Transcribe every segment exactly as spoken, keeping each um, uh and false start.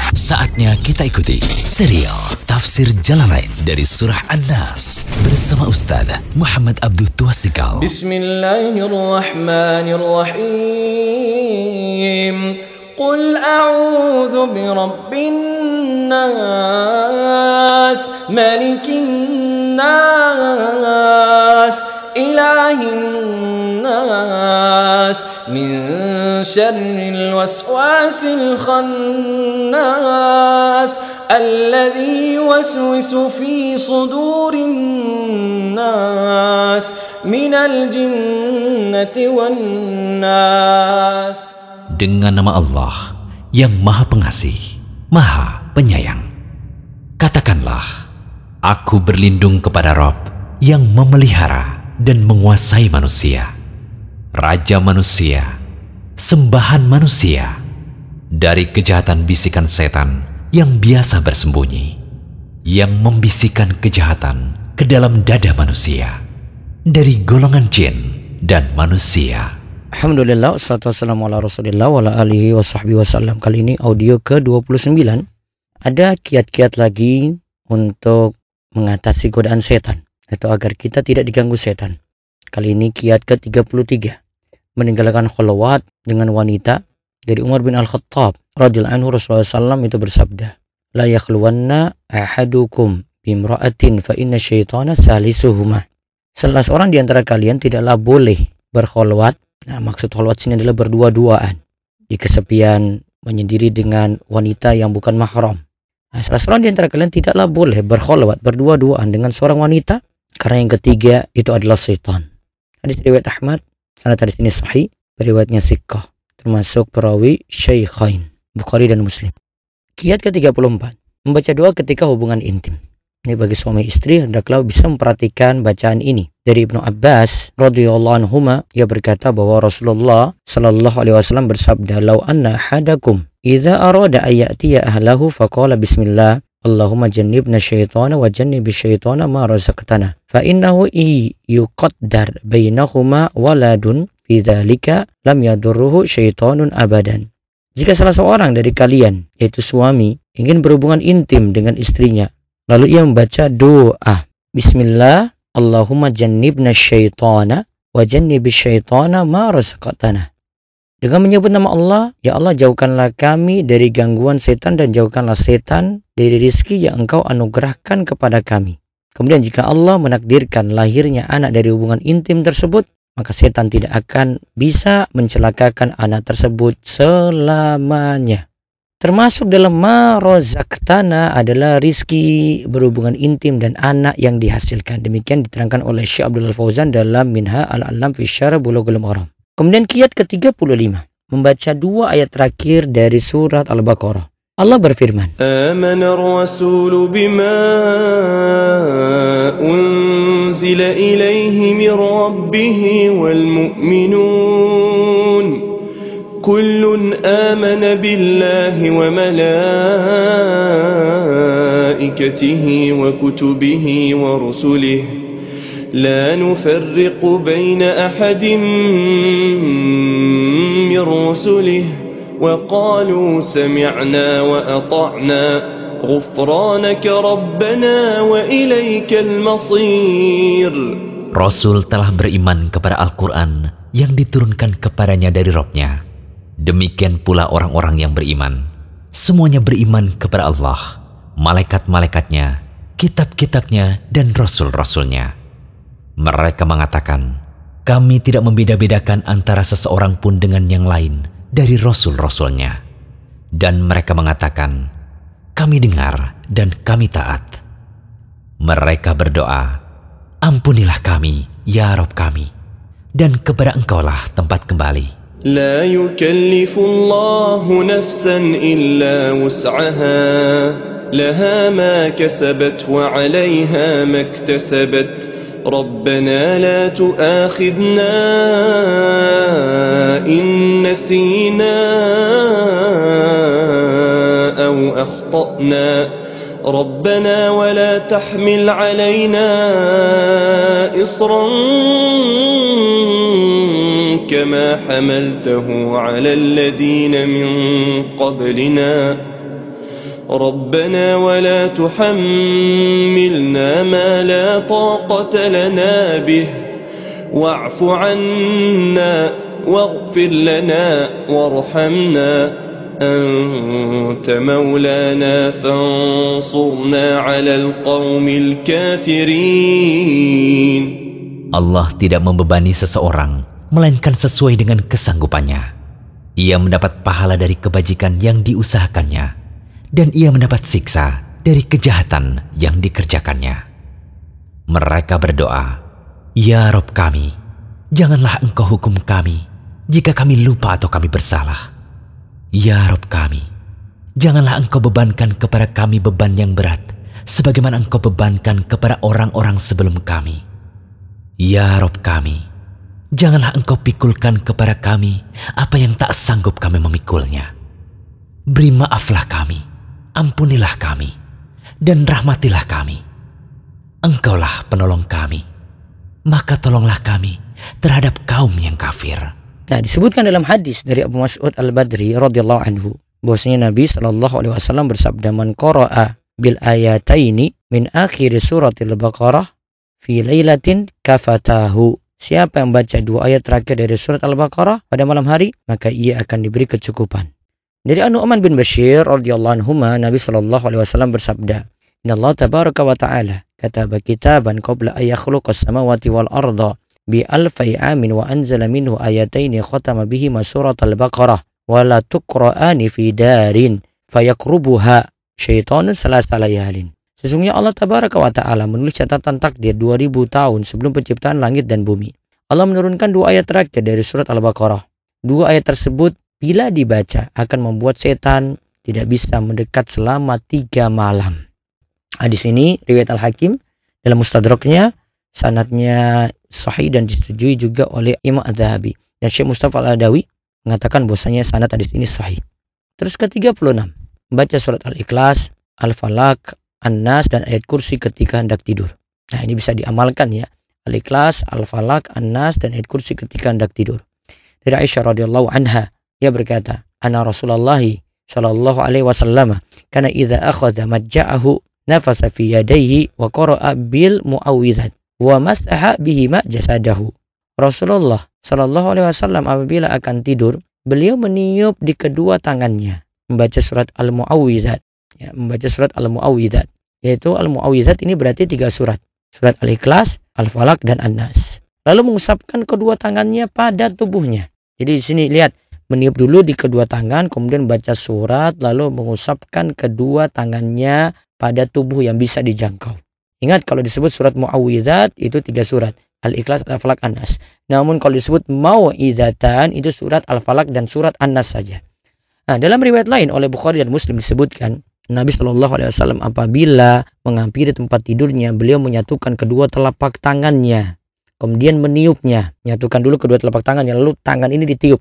Saatnya kita ikuti serial Tafsir Jalalain dari Surah An-Nas bersama Ustaz Muhammad Abdul Tuasikal. Bismillahirrahmanirrahim. Qul a'udzu birabbin nas, malikin nas, ilahin nas, min syarril waswasil khannas, alladzi yuwaswisu fi sudurin nas, minal jinnati wan nas. Dengan nama Allah yang Maha Pengasih, Maha Penyayang. Katakanlah, aku berlindung kepada Rabb yang memelihara dan menguasai manusia, Raja manusia, sembahan manusia, dari kejahatan bisikan setan yang biasa bersembunyi, yang membisikkan kejahatan ke dalam dada manusia, dari golongan jin dan manusia. Alhamdulillah, wassalatu wassalamu ala rasulillah wa ala alihi wa sahbihi wasallam. Kali ini audio ke dua puluh sembilan. Ada kiat-kiat lagi untuk mengatasi godaan setan, atau agar kita tidak diganggu setan. Kali ini kiat ke tiga puluh tiga. Meninggalkan khalwat dengan wanita. Dari Umar bin Al-Khattab radhiyallahu anhu, Rasulullah shallallahu alaihi wasallam itu bersabda, La yakhluwanna ahadukum bimra'atin fa inna syaitana salisuhuma. Salah seorang di antara kalian tidaklah boleh berkholwat. Nah, maksud kholwat sini adalah berdua-duaan di kesepian, menyendiri dengan wanita yang bukan mahram. Nah, salah seorang di antara kalian tidaklah boleh berkholwat, berdua-duaan dengan seorang wanita, karena yang ketiga itu adalah syaitan. Hadis riwayat Ahmad, sanad hadis ini sahih, riwayatnya siqah, termasuk perawi Syaikhain, Bukhari dan Muslim. Kiat ke tiga puluh empat, membaca doa ketika hubungan intim. Ini bagi suami istri hendaklah bisa memperhatikan bacaan ini. Dari Ibnu Abbas radhiyallahu anhuma, ia berkata bahwa Rasulullah sallallahu alaihi wasallam bersabda, "Lau anna ahadakum idza arada ayatiya ahlahu faqala bismillah, Allahumma jannibna syaitana wa jannibish syaitana ma razaqtana, fa innahu i yuqaddar bainahuma waladun fi dzalika lam yadurruhu syaitanun abadan." Jika salah seorang dari kalian, yaitu suami, ingin berhubungan intim dengan istrinya, lalu ia membaca doa, Bismillah, Allahumma jannibna syaitana wa jannibish syaitana ma razaqtana. Dengan menyebut nama Allah, ya Allah, jauhkanlah kami dari gangguan setan dan jauhkanlah setan dari rizki yang Engkau anugerahkan kepada kami. Kemudian jika Allah menakdirkan lahirnya anak dari hubungan intim tersebut, maka setan tidak akan bisa mencelakakan anak tersebut selamanya. Termasuk dalam ma razaqtana adalah rizki berhubungan intim dan anak yang dihasilkan. Demikian diterangkan oleh Syekh Abdul Fauzan dalam Minha al-Alam fi Syarh Bulughul Maram. Kemudian kiat ke tiga puluh lima, membaca dua ayat terakhir dari surat Al-Baqarah. Allah berfirman, Amana ar-rasulu bima unzila ilaihi min rabbih wal mu'minun. Kullun amana billahi wa malaikatihi wa kutubihi wa rusulihi la nufarriqu baina ahadin min rusulihi wa qalu sami'na wa ata'na ghufranaka rabbana wa ilaikal masir. Rasul telah beriman kepada Al-Quran yang diturunkan kepadanya dari Rabb-Nya. Demikian pula orang-orang yang beriman. Semuanya beriman kepada Allah, malaikat-malaikatnya, kitab-kitabnya, dan rasul-rasulnya. Mereka mengatakan, kami tidak membeda-bedakan antara seseorang pun dengan yang lain dari rasul-rasulnya. Dan mereka mengatakan, kami dengar dan kami taat. Mereka berdoa, ampunilah kami, ya Rabb kami, dan kepada Engkaulah tempat kembali. لا يكلف الله نفسا إلا وسعها لها ما كسبت وعليها ما اكتسبت ربنا لا تؤاخذنا إن نسينا أو أخطأنا ربنا ولا تحمل علينا إصرا كما حملته على الذين من قبلنا ربنا ولا تحملنا ما لا طاقة لنا به واعف عنا واغفر لنا وارحمنا أنت مولانا فانصرنا على القوم الكافرين. Allah tidak membebani seseorang, melainkan sesuai dengan kesanggupannya. Ia mendapat pahala dari kebajikan yang diusahakannya, dan ia mendapat siksa dari kejahatan yang dikerjakannya. Mereka berdoa, "Ya Rob kami, janganlah Engkau hukum kami jika kami lupa atau kami bersalah. Ya Rob kami, janganlah Engkau bebankan kepada kami beban yang berat, sebagaimana Engkau bebankan kepada orang-orang sebelum kami. Ya Rob kami, janganlah Engkau pikulkan kepada kami apa yang tak sanggup kami memikulnya. Beri maaflah kami, ampunilah kami, dan rahmatilah kami. Engkaulah penolong kami, maka tolonglah kami terhadap kaum yang kafir." Nah, disebutkan dalam hadis dari Abu Mas'ud Al-Badri radhiyallahu anhu bahwasanya Nabi Shallallahu alaihi wasallam bersabda, "Man qara'a bil ayataini min akhir suratil Baqarah fi lailatin kafatahu." Siapa yang baca dua ayat terakhir dari surat Al-Baqarah pada malam hari, maka ia akan diberi kecukupan. Dari An-Nu'man bin Bashir radhiyallahu anhuma, Nabi sallallahu alaihi wasallam bersabda, "Innallaha tabaraka wa ta'ala kataba kitaban qabla ay yakhluqas samawati wal arda bi alfi amin wa anzala minhu ayataini khatama bihima surat Al-Baqarah wa la tuqra'ani fi darin fayaqrubuha syaitanun salasa layalin." Sesungguhnya Allah Tabaraka wa Ta'ala menulis catatan takdir dua ribu tahun sebelum penciptaan langit dan bumi. Allah menurunkan dua ayat terakhir dari surat Al-Baqarah. Dua ayat tersebut bila dibaca akan membuat setan tidak bisa mendekat selama tiga malam. Hadis ini riwayat Al-Hakim dalam Mustadraknya, sanadnya sahih dan disetujui juga oleh Imam Adz-Dzahabi. Dan Syekh Mustafa Al-Adawi mengatakan bahwasanya sanad hadis ini sahih. Terus ke tiga puluh enam, membaca surat Al-Ikhlas, Al-Falaq, An-Nas dan ayat kursi ketika hendak tidur. Nah, ini bisa diamalkan ya. Al-Ikhlas, Al-Falaq, An-Nas dan ayat kursi ketika hendak tidur. Dari Aisyah radhiyallahu anha, ia berkata, "Ana Rasulullah sallallahu alaihi wasallam kana idza akhadha majja'ahu nafasa fi yadayhi wa qara'a bil mu'awwidzat wa masaha bihi ma jasadahu." Rasulullah sallallahu alaihi wasallam apabila akan tidur, beliau meniup di kedua tangannya, membaca surat Al-Mu'awwidzat. Ya, membaca surat Al-Mu'awwidzat, yaitu Al-Mu'awwidzat ini berarti tiga surat, surat Al-Ikhlas, Al-Falaq dan An-Nas. Lalu mengusapkan kedua tangannya pada tubuhnya. Jadi di sini lihat, meniup dulu di kedua tangan, kemudian baca surat, lalu mengusapkan kedua tangannya pada tubuh yang bisa dijangkau. Ingat, kalau disebut surat Mu'awwidzat itu tiga surat, Al-Ikhlas, Al-Falaq, An-Nas. Namun kalau disebut Mau'izatan itu surat Al-Falaq dan surat An-Nas saja. Nah, dalam riwayat lain oleh Bukhari dan Muslim disebutkan, Nabi Shallallahu alaihi wasallam apabila menghampiri tempat tidurnya, beliau menyatukan kedua telapak tangannya, kemudian meniupnya, menyatukan dulu kedua telapak tangannya, lalu tangan ini ditiup,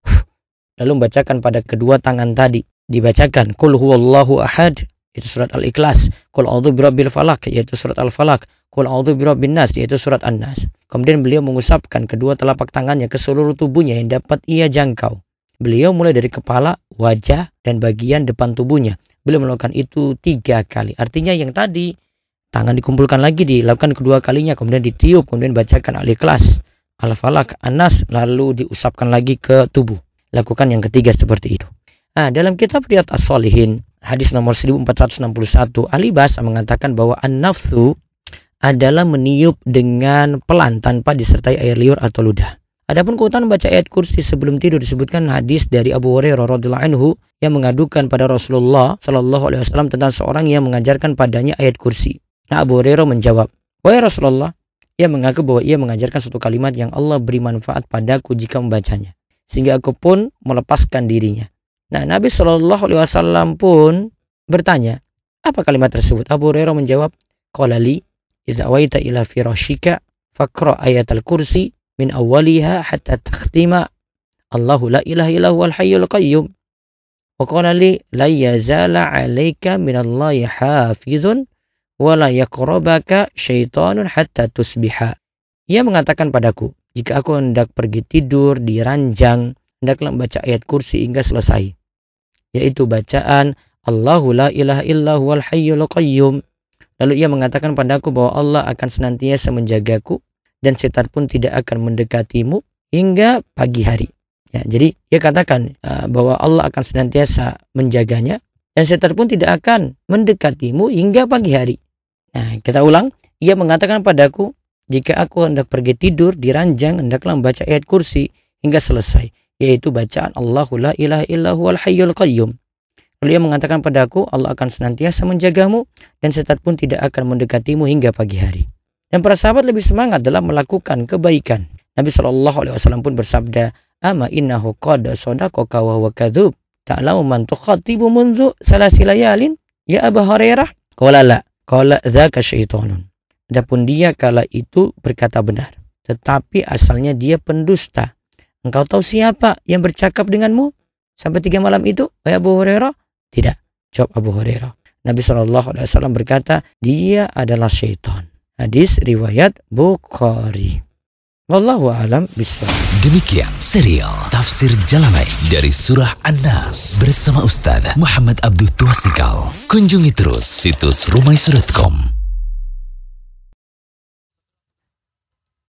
lalu membacakan pada kedua tangan tadi, dibacakan Qul huwallahu ahad, itu surat Al-Ikhlas, Qul a'udzu birabbil falaq, yaitu surat Al-Falaq, Qul a'udzu birabbin nas, yaitu surat An-Nas. Kemudian beliau mengusapkan kedua telapak tangannya ke seluruh tubuhnya yang dapat ia jangkau. Beliau mulai dari kepala, wajah, dan bagian depan tubuhnya. Beliau melakukan itu tiga kali. Artinya yang tadi, tangan dikumpulkan lagi, dilakukan kedua kalinya, kemudian ditiup, kemudian bacakan Al-Ikhlas, Al-Falaq, An-Nas, lalu diusapkan lagi ke tubuh. Lakukan yang ketiga seperti itu. Nah, dalam kitab Riyadhus Shalihin, hadis nomor seribu empat ratus enam puluh satu, ahli bahasa mengatakan bahwa an-nafsu adalah meniup dengan pelan tanpa disertai air liur atau ludah. Adapun keutamaan baca ayat kursi sebelum tidur disebutkan hadis dari Abu Hurairah radhiyallahu anhu yang mengadukan pada Rasulullah sallallahu alaihi wasallam tentang seorang yang mengajarkan padanya ayat kursi. Nah, Abu Hurairah menjawab, "Wahai Rasulullah," ia mengaku bahwa ia mengajarkan suatu kalimat yang Allah beri manfaat padaku jika membacanya, sehingga aku pun melepaskan dirinya. Nah, Nabi sallallahu alaihi wasallam pun bertanya, "Apa kalimat tersebut?" Abu Hurairah menjawab, "Qala li idza awaita ila firashika faqra ayatal kursi min awwaliha hatta takhtima Allahu la ilaha illa huwal hayyul qayyum wa qala li la yazala 'alaika minallahi hafizun wa la yaqrabaka syaitanun hatta tusbiha." Ia mengatakan padaku, jika aku hendak pergi tidur di ranjang, hendaklah membaca ayat kursi hingga selesai, yaitu bacaan Allahu la ilaha illa huwal hayyul qayyum. Lalu ia mengatakan padaku bahwa Allah akan senantiasa menjagaku dan setan pun tidak akan mendekatimu hingga pagi hari. Ya, jadi ia katakan uh, bahwa Allah akan senantiasa menjaganya dan setan pun tidak akan mendekatimu hingga pagi hari. Nah, kita ulang. Ia mengatakan padaku, jika aku hendak pergi tidur di ranjang, hendaklah membaca ayat kursi hingga selesai, yaitu bacaan Allahu la ilaha illa huwal hayyul qayyum. Lalu ia mengatakan padaku, Allah akan senantiasa menjagamu dan setan pun tidak akan mendekatimu hingga pagi hari. Dan para sahabat lebih semangat dalam melakukan kebaikan. Nabi shallallahu alaihi wasallam pun bersabda, Ama innahu qad sadaqaka wa huwa kadzub. Ta'lamu man tukhatibu munzu salasi layalin ya Abu Hurairah? Qala la, qala dzaka syaitanun. Adapun dia kala itu berkata benar, tetapi asalnya dia pendusta. Engkau tahu siapa yang bercakap denganmu sampai tiga malam itu, wahai Abu Hurairah? Tidak, jawab Abu Hurairah. Nabi shallallahu alaihi wasallam berkata, dia adalah syaitan. Hadis riwayat Bukhari. Wallahu a'lam bishawab. Demikian serial Tafsir Jalalain dari Surah An-Nas bersama Ustaz Muhammad Abdul Tuasikal. Kunjungi terus situs rumaiso dot com.